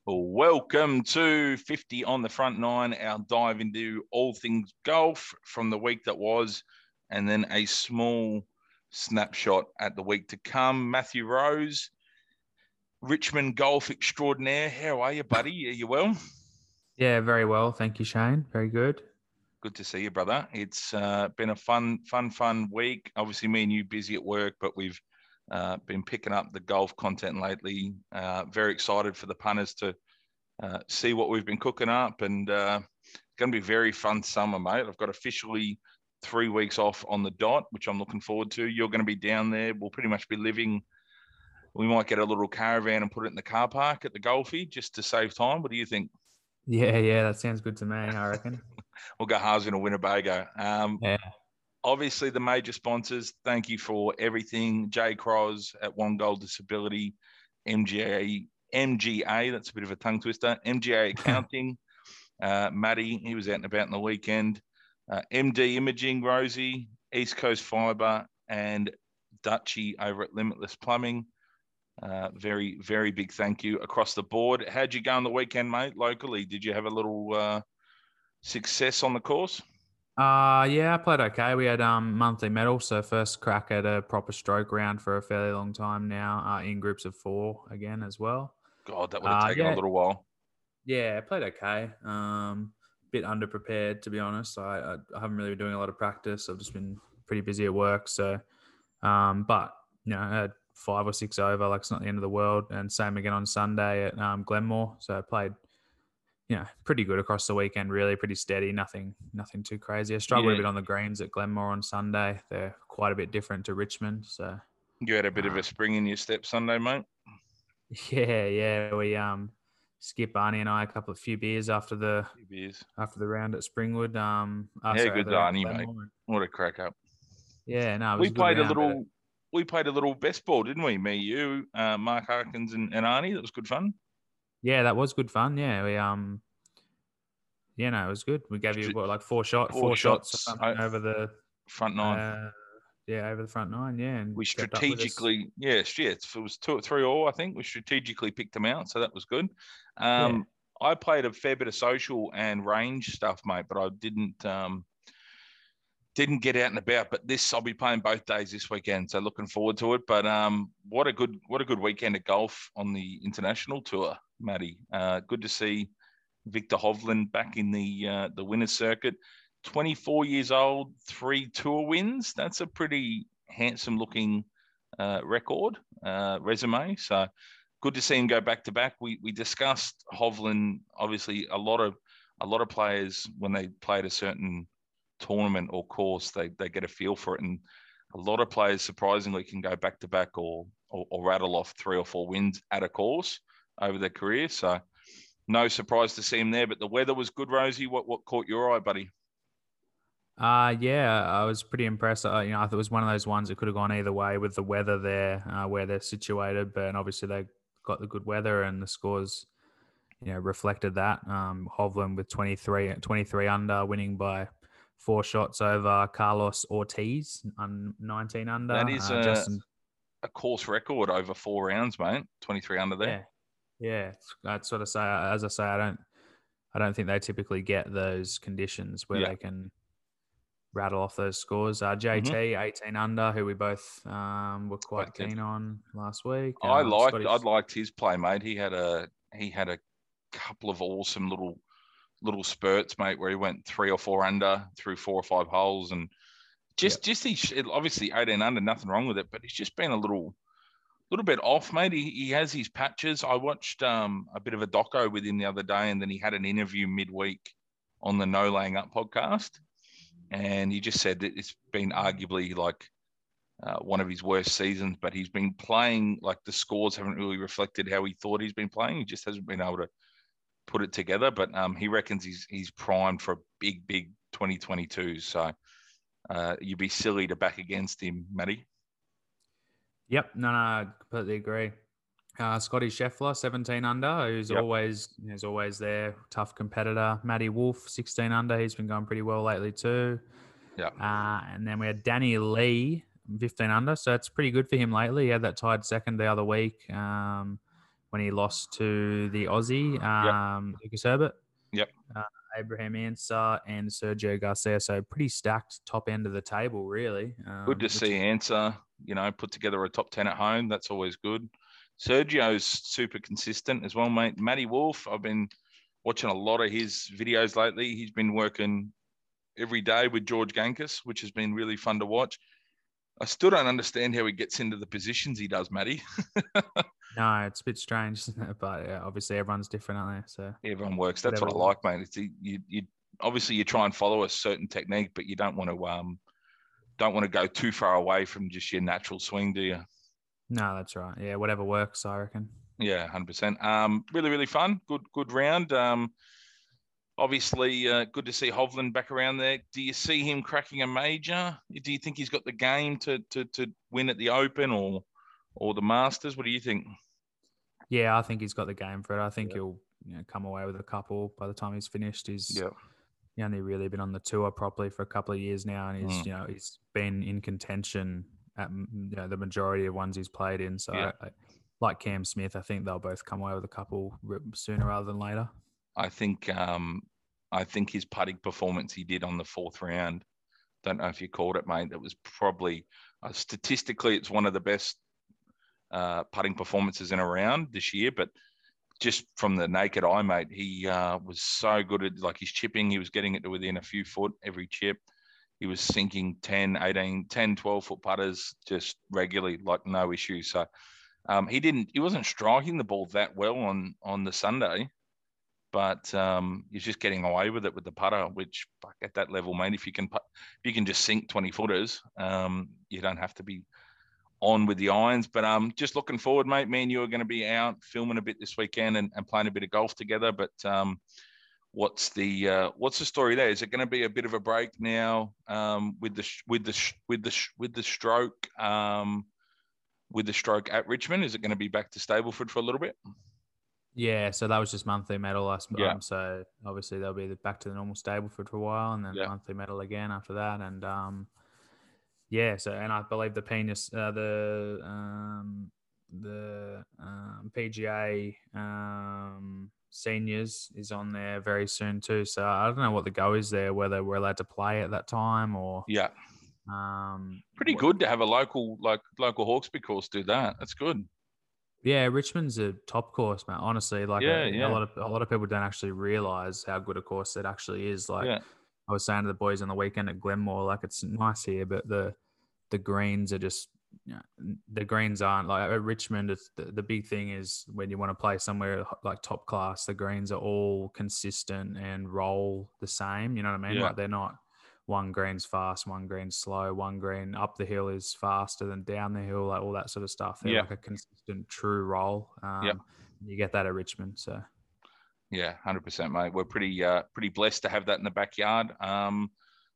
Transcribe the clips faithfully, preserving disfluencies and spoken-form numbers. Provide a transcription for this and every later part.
Well, welcome to fifty on the Front Nine, our dive into all things golf from the week that was, and then a small snapshot at the week to come. Matthew Rose, Richmond golf extraordinaire. How are you, buddy? Are you well? Yeah, very well. Thank you, Shane. Very good. Good to see you, brother. It's uh, been a fun, fun, fun week. Obviously, me and you busy at work, but we've uh, been picking up the golf content lately. Uh, very excited for the punters to uh, see what we've been cooking up, and uh, it's going to be a very fun summer, mate. I've got officially three weeks off on the dot, which I'm looking forward to. You're going to be down there. We'll pretty much be living. We might get a little caravan and put it in the car park at the Golfy just to save time. What do you think? Yeah, yeah, that sounds good to me, I reckon. We'll go halves in a Winnebago. Um, yeah. Obviously, the major sponsors, thank you for everything. Jay Cross at One Goal Disability, M G A, M G A, that's a bit of a tongue twister, M G A Accounting, uh, Matty, he was out and about on the weekend, uh, M D Imaging, Rosie, East Coast Fibre, and Dutchy over at Limitless Plumbing. Uh, very, very big thank you across the board. How'd you go on the weekend, mate, locally? Did you have a little uh, success on the course? Uh, yeah, I played okay. We had um monthly medal, so first crack at a proper stroke round for a fairly long time now, uh, in groups of four again as well. God, that would have Uh, taken yeah, a little while. Yeah, I played okay. Um, bit underprepared, to be honest. I, I, I haven't really been doing a lot of practice. I've just been pretty busy at work. So, um, but, you know, I had five or six over, like it's not the end of the world. And same again on Sunday at um, Glenmore. So I played, you know, pretty good across the weekend, really pretty steady, nothing nothing too crazy. I struggled Yeah. a bit on the greens at Glenmore on Sunday. They're quite a bit different to Richmond. So You had a bit uh, of a spring in your step Sunday, mate? Yeah, yeah. We um Skip, Arnie and I a couple of few beers after the beers. after the round at Springwood. Um, oh, How sorry, good's Arnie, mate? What a crack up! Yeah, no, it was we a good played round, a little. But... We played a little best ball, didn't we? Me, you, uh, Mark Harkins, and, and Arnie. That was good fun. Yeah, that was good fun. Yeah, we um, yeah, no, it was good. We gave you what, like four shot, four, four shots, shots or something over the front nine. Uh, yeah, over the front nine. Yeah, and we strategically, yes, yeah, it was two or three all. I think we strategically picked them out, so that was good. Um, yeah. I played a fair bit of social and range stuff, mate, but I didn't um, didn't get out and about. But this, I'll be playing both days this weekend, so looking forward to it. But um, what a good what a good weekend of golf on the international tour, Matty. Uh, good to see Victor Hovland back in the uh, the winners circuit. twenty-four years old, three tour wins. That's a pretty handsome looking uh, record, uh, resume. So good to see him go back to back. We we discussed Hovland. Obviously, a lot of a lot of players when they play at a certain tournament or course, they they get a feel for it, and a lot of players surprisingly can go back to back or, or or rattle off three or four wins at a course over their career. So no surprise to see him there. But the weather was good, Rosie. What what caught your eye, buddy? Uh, yeah, I was pretty impressed. Uh, you know, I thought it was one of those ones that could have gone either way with the weather there, uh, where they're situated. But obviously they got the good weather and the scores, you know, reflected that. Um, Hovland with twenty-three, twenty-three under, winning by four shots over Carlos Ortiz, on nineteen under. That is uh, a, Justin... a course record over four rounds, mate. twenty-three under there. Yeah, yeah. I'd sort of say, as I say, I don't, I don't think they typically get those conditions where yeah. they can rattle off those scores. Uh, J T, mm-hmm. eighteen under, who we both um, were quite Expected. keen on last week. Um, I liked, Scotty's... I liked his play, mate. He had a, he had a couple of awesome little, little spurts, mate, where he went three or four under through four or five holes, and just, yep. just he obviously eighteen under, nothing wrong with it, but he's just been a little, little bit off, mate. He, he has his patches. I watched um, a bit of a doco with him the other day, and then he had an interview midweek on the No Laying Up podcast. And he just said that it's been arguably like uh, one of his worst seasons, but he's been playing like the scores haven't really reflected how he thought he's been playing. He just hasn't been able to put it together, but um, he reckons he's he's primed for a big, big twenty twenty-two. So uh, you'd be silly to back against him, Matty. Yep. No, no, I completely agree. Uh, Scotty Scheffler, seventeen under, who's yep. always is always there, tough competitor. Matty Wolf, sixteen under, he's been going pretty well lately too. Yeah. Uh, and then we had Danny Lee, fifteen under, so it's pretty good for him lately. He had that tied second the other week. Um, when he lost to the Aussie, um, yep. Lucas Herbert. Yep. Uh, Abraham Ansah and Sergio Garcia. So pretty stacked top end of the table, really. Um, good to see Ansah, you know, put together a top ten at home. That's always good. Sergio's super consistent as well, mate. Matty Wolf, I've been watching a lot of his videos lately. He's been working every day with George Gankas, which has been really fun to watch. I still don't understand how he gets into the positions he does, Matty. No, it's a bit strange, isn't it? But yeah, obviously everyone's different, aren't they? So everyone works. That's what I like, mate. It's you, you obviously you try and follow a certain technique, but you don't want to um don't want to go too far away from just your natural swing, do you? No, that's right. Yeah, whatever works, I reckon. Yeah, one hundred percent. Um, really, really fun. Good, good round. Um, obviously, uh, good to see Hovland back around there. Do you see him cracking a major? Do you think he's got the game to to to win at the Open or or the Masters? What do you think? Yeah, I think he's got the game for it. I think yeah. he'll you know, come away with a couple by the time he's finished. He's yeah. he only really been on the tour properly for a couple of years now, and he's mm. you know he's been in contention at you know the majority of ones he's played in. So, yeah. I, I, like Cam Smith, I think they'll both come away with a couple sooner rather than later. I think um, I think his putting performance he did on the fourth round. Don't know if you called it, mate. That was probably uh, statistically it's one of the best uh, putting performances in a round this year, but. Just from the naked eye, mate, he uh, was so good at like his chipping. He was getting it to within a few foot every chip. He was sinking ten, eighteen, ten, twelve foot putters just regularly, like no issue. So um, he didn't, he wasn't striking the ball that well on, on the Sunday, but um, he's just getting away with it with the putter, which at that level, mate, if you can, if you can just sink twenty footers, um, you don't have to be on with the irons, but um, just looking forward, mate. Me and you are going to be out filming a bit this weekend and, and playing a bit of golf together. But um, what's the uh, what's the story there? Is it going to be a bit of a break now um, with the with the with the with the stroke um, with the stroke at Richmond? Is it going to be back to Stableford for a little bit? Yeah, so that was just monthly medal last yeah. Um, so obviously they'll be back to the normal Stableford for a while, and then yeah. monthly medal again after that, and um. Yeah, so and I believe the penis, uh, the um, the um, P G A um, seniors is on there very soon too. So I don't know what the go is there, whether we're allowed to play at that time or yeah, um, pretty what, good to have a local like local Hawkesbury course do that. That's good. Yeah, Richmond's a top course, man. Honestly, like yeah, a, yeah. a lot of a lot of people don't actually realize how good a course it actually is. Like. Yeah. I was saying to the boys on the weekend at Glenmore, like it's nice here, but the the greens are just you know, the greens aren't like at Richmond. It's the, the big thing is when you want to play somewhere like top class, the greens are all consistent and roll the same. You know what I mean? Yeah. Like they're not one green's fast, one green's slow, one green up the hill is faster than down the hill, like all that sort of stuff. They're yeah. like a consistent, true roll. Um, yep. You get that at Richmond, so. Yeah, one hundred percent, mate. We're pretty uh, pretty blessed to have that in the backyard. Um,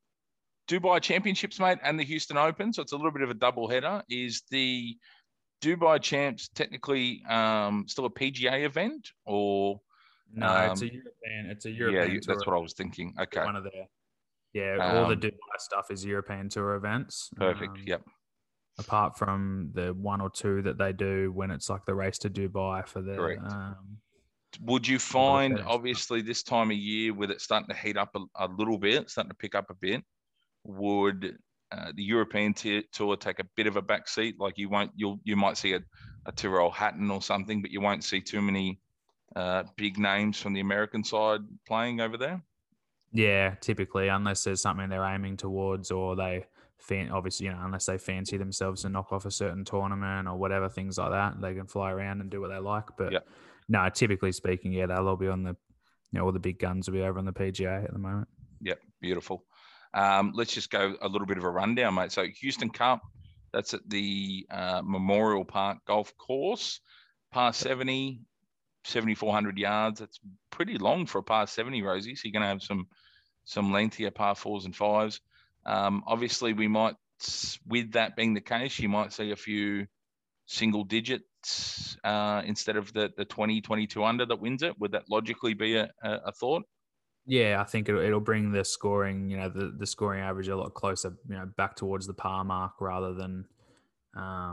Dubai Championships, mate, and the Houston Open. So it's a little bit of a double header. Is the Dubai Champs technically um, still a P G A event or? No, um, it's a European. It's a European. Yeah, tour that's what I was thinking. Okay. One of their, yeah, all um, the Dubai stuff is European tour events. Perfect. Um, yep. Apart from the one or two that they do when it's like the race to Dubai for the. Correct. Um, Would you find, obviously, this time of year with it starting to heat up a, a little bit, starting to pick up a bit, would uh, the European t- tour take a bit of a back seat? Like you won't, you'll, you might see a, a Tyrrell Hatton or something, but you won't see too many uh, big names from the American side playing over there? Yeah, typically, unless there's something they're aiming towards or they, fan- obviously, you know, unless they fancy themselves to knock off a certain tournament or whatever, things like that, they can fly around and do what they like. But yeah. No, typically speaking, yeah, they'll all be on the, you know, all the big guns will be over on the P G A at the moment. Yep, beautiful. Um, let's just go a little bit of a rundown, mate. So Houston Cup, that's at the uh, Memorial Park Golf Course, par seventy, seventy-four hundred yards. That's pretty long for a par seventy, Rosie. So you're going to have some some lengthier par fours and fives. Um, obviously, we might, with that being the case, you might see a few single digits uh, instead of the, the twenty, twenty-two under that wins it. Would that logically be a, a, a thought? Yeah, I think it'll, it'll bring the scoring, you know, the, the scoring average a lot closer, you know, back towards the par mark rather than, um,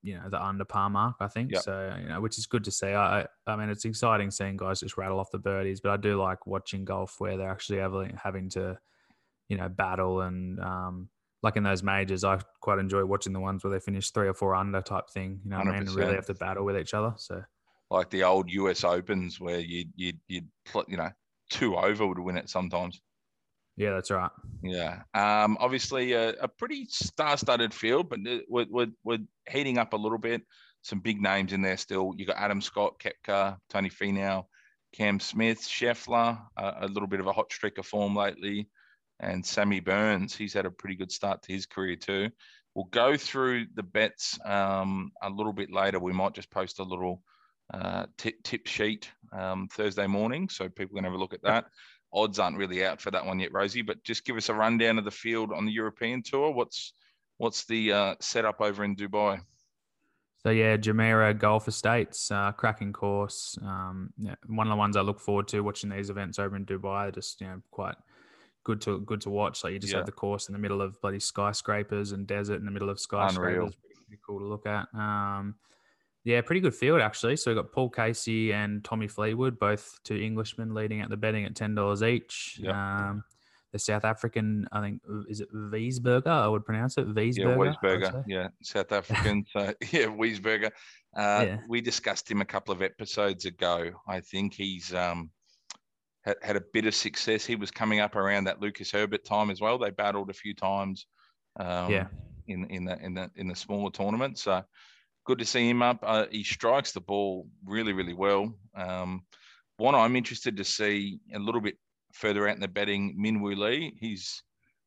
you know, the under par mark, I think. Yep. So, you know, which is good to see. I, I mean, it's exciting seeing guys just rattle off the birdies, but I do like watching golf where they're actually having, having to, you know, battle and, um, like in those majors, I quite enjoy watching the ones where they finish three or four under type thing, you know what I mean? And really have to battle with each other. So, like the old U S Opens where you'd, you'd, you'd, you know, two over would win it sometimes. Yeah, that's right. Yeah. Um, obviously, a, a pretty star-studded field, but we're, we're, we're heating up a little bit. Some big names in there still. You got Adam Scott, Koepka, Tony Finau, Cam Smith, Scheffler, uh, a little bit of a hot streak of form lately, and Sammy Burns. He's had a pretty good start to his career too. We'll go through the bets um, a little bit later. We might just post a little uh, tip, tip sheet um, Thursday morning, so people can have a look at that. Odds aren't really out for that one yet, Rosie, but just give us a rundown of the field on the European Tour. What's what's the uh, setup over in Dubai? So yeah, Jumeirah Golf Estates, uh, cracking course. Um, yeah, one of the ones I look forward to watching these events over in Dubai. They're just, you know, quite good to good to watch. Like you just Yeah. have the course in the middle of bloody skyscrapers and desert in the middle of skyscrapers. Unreal. Pretty cool to look at. Um, yeah, pretty good field actually. So we've got Paul Casey and Tommy Fleetwood, both two Englishmen leading at the betting at ten dollars each. Yep. Um, the South African, I think, is it Wiesberger? I would pronounce it Wiesberger. Yeah, Wiesberger. Yeah, South African. So yeah, Wiesberger. Uh, yeah. We discussed him a couple of episodes ago. I think he's um, had, had a bit of success. He was coming up around that Lucas Herbert time as well. They battled a few times. Um, yeah. In in the in the in the smaller tournament. So good to see him up. Uh, he strikes the ball really, really well. Um, one I'm interested to see a little bit further out in the betting, Min Woo Lee. He's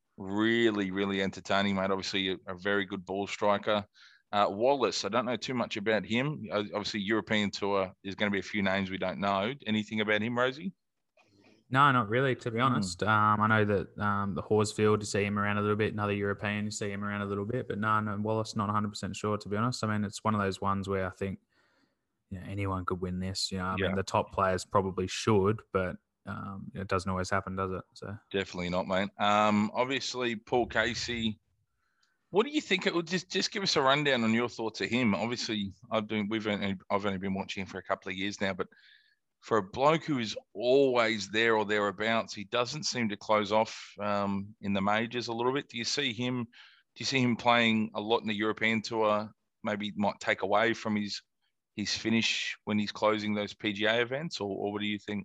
really, really entertaining, mate. Obviously, a, a very good ball striker. Uh, Wallace, I don't know too much about him. Obviously, European Tour, there's going to be a few names we don't know. Anything about him, Rosie? No, not really, to be honest. Mm. Um, I know that um, the Horsfield, you see him around a little bit. Another European, you see him around a little bit. But no, no, Wallace, not one hundred percent sure, to be honest. I mean, it's one of those ones where I think, you know, anyone could win this. You know, I yeah. mean, the top players probably should, but um, it doesn't always happen, does it? So definitely not, mate. Um, obviously, Paul Casey. What do you think? It would just just give us a rundown on your thoughts of him. Obviously, I've been we've only, I've only been watching him for a couple of years now, but for a bloke who is always there or thereabouts, he doesn't seem to close off um, in the majors a little bit. Do you see him? Do you see him playing a lot in the European Tour? Maybe might take away from his his finish when he's closing those P G A events, or, or what do you think?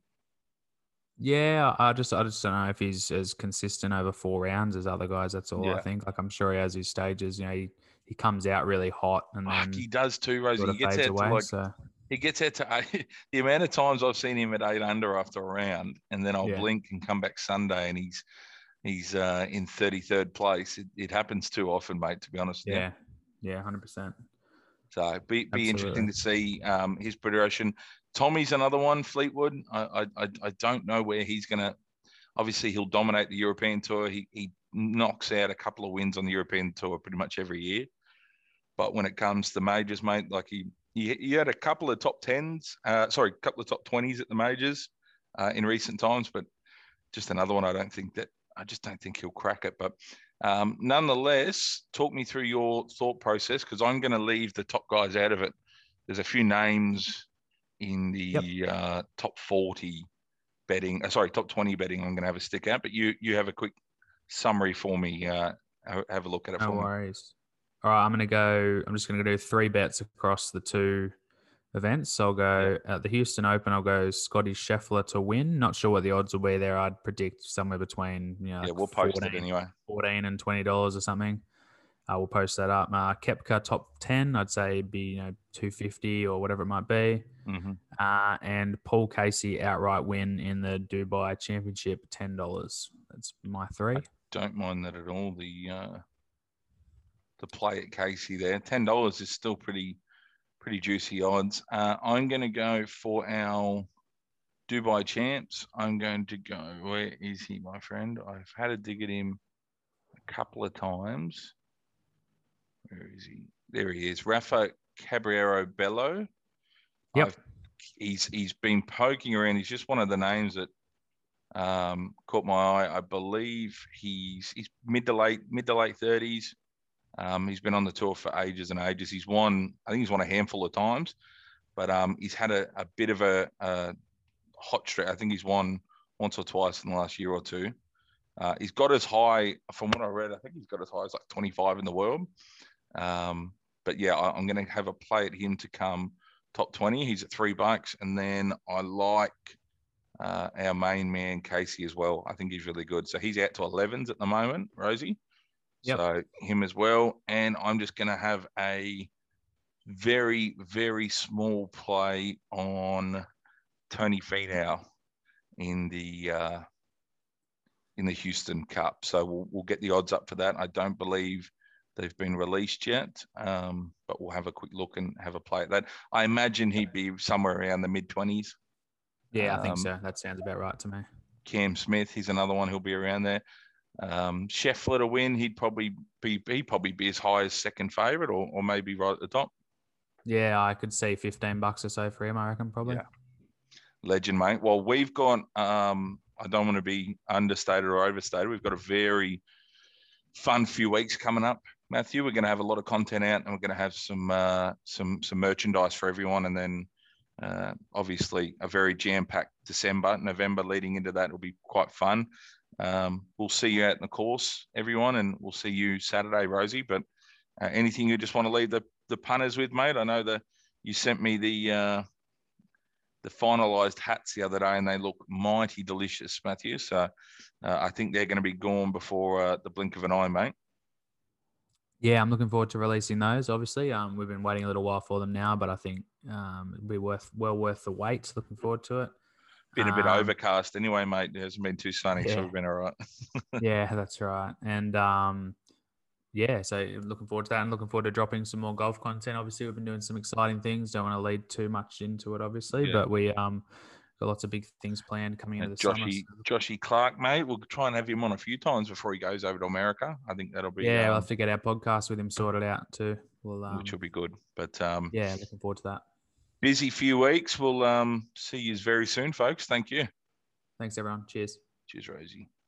Yeah, I just I just don't know if he's as consistent over four rounds as other guys. That's all yeah. I think. Like I'm sure he has his stages. You know, he, he comes out really hot and then oh, he does too, Rosie. He gets out away, to like. So. He gets out to eight. The amount of times I've seen him at eight under after a round, and then I'll yeah. blink and come back Sunday, and he's he's uh, in thirty-third place. It, it happens too often, mate. To be honest. Yeah, yeah, one hundred percent. So be be interesting to see um, his progression. Tommy's another one. Fleetwood. I I I don't know where he's gonna. Obviously, he'll dominate the European Tour. He he knocks out a couple of wins on the European Tour pretty much every year. But when it comes to majors, mate, like he. He had a couple of top tens, uh, sorry, a couple of top twenties at the majors uh, in recent times, but just another one. I don't think that, I just don't think he'll crack it. But um, nonetheless, talk me through your thought process, because I'm going to leave the top guys out of it. There's a few names in the yep. uh, top forty betting, uh, sorry, top twenty betting I'm going to have a stick out, but you you have a quick summary for me. Uh, have a look at it no for me. No worries. All right, I'm going to go, I'm just going to do three bets across the two events. So I'll go yeah. at the Houston Open, I'll go Scotty Scheffler to win. Not sure what the odds will be there. I'd predict somewhere between, you know, yeah, we'll post it anyway. fourteen and twenty dollars or something. Uh, we'll post that up. Uh, Koepka top ten, I'd say be, you know, two fifty or whatever it might be. Mm-hmm. Uh, and Paul Casey outright win in the Dubai Championship, ten dollars. That's my three. I don't mind that at all. The, uh, the play at Casey there. ten dollars is still pretty pretty juicy odds. Uh, I'm going to go for our Dubai champs. I'm going to go, where is he, my friend? I've had a dig at him a couple of times. Where is he? There he is. Rafa Cabrera Bello. Yep. I've, he's he's been poking around. He's just one of the names that um, caught my eye. I believe he's he's mid to late mid to late thirties. Um, he's been on the tour for ages and ages. He's won, I think he's won a handful of times, but um, he's had a, a bit of a, a hot streak. I think he's won once or twice in the last year or two. Uh, he's got as high, from what I read, I think he's got as high as like twenty-five in the world. Um, but yeah, I, I'm going to have a play at him to come top twenty. He's at three bucks. And then I like uh, our main man, Casey, as well. I think he's really good. So he's out to elevens at the moment, Rosie. Yep. So him as well. And I'm just going to have a very, very small play on Tony Finau in the uh, in the Houston Cup. So we'll, we'll get the odds up for that. I don't believe they've been released yet, um, but we'll have a quick look and have a play at that. I imagine he'd be somewhere around the mid-twenties. Yeah, I think um, so. That sounds about right to me. Cam Smith, he's another one who'll be around there. Um, Scheffler to win, he'd probably be he'd probably be as high as second favourite, or or maybe right at the top. Yeah, I could see fifteen bucks or so for him, I reckon, probably. Yeah. Legend, mate. Well, we've got, um, I don't want to be understated or overstated, we've got a very fun few weeks coming up, Matthew. We're going to have a lot of content out, and we're going to have some uh, some some merchandise for everyone, and then uh, obviously a very jam-packed December, November leading into that will be quite fun. Um, we'll see you out in the course, everyone, and we'll see you Saturday, Rosie. But uh, anything you just want to leave the, the punters with, mate? I know that you sent me the uh, the finalised hats the other day, and they look mighty delicious, Matthew. So uh, I think they're going to be gone before uh, the blink of an eye, mate. Yeah, I'm looking forward to releasing those. Obviously, um, we've been waiting a little while for them now, but I think um, it'll be worth well worth the wait. Looking forward to it. Been a bit um, overcast anyway, mate. It hasn't been too sunny, yeah. So we've been all right. Yeah, that's right. And um, yeah, so looking forward to that, and looking forward to dropping some more golf content. Obviously, we've been doing some exciting things. Don't want to lead too much into it, obviously, yeah. but we um got lots of big things planned coming into the Joshy, summer. Joshy Clark, mate. We'll try and have him on a few times before he goes over to America. I think that'll be yeah. Um, we'll have to get our podcast with him sorted out too. We'll, um, which will be good. But um, yeah, looking forward to that. Busy few weeks. We'll um see you very soon, folks. Thank you. Thanks, everyone. Cheers. Cheers, Rosie.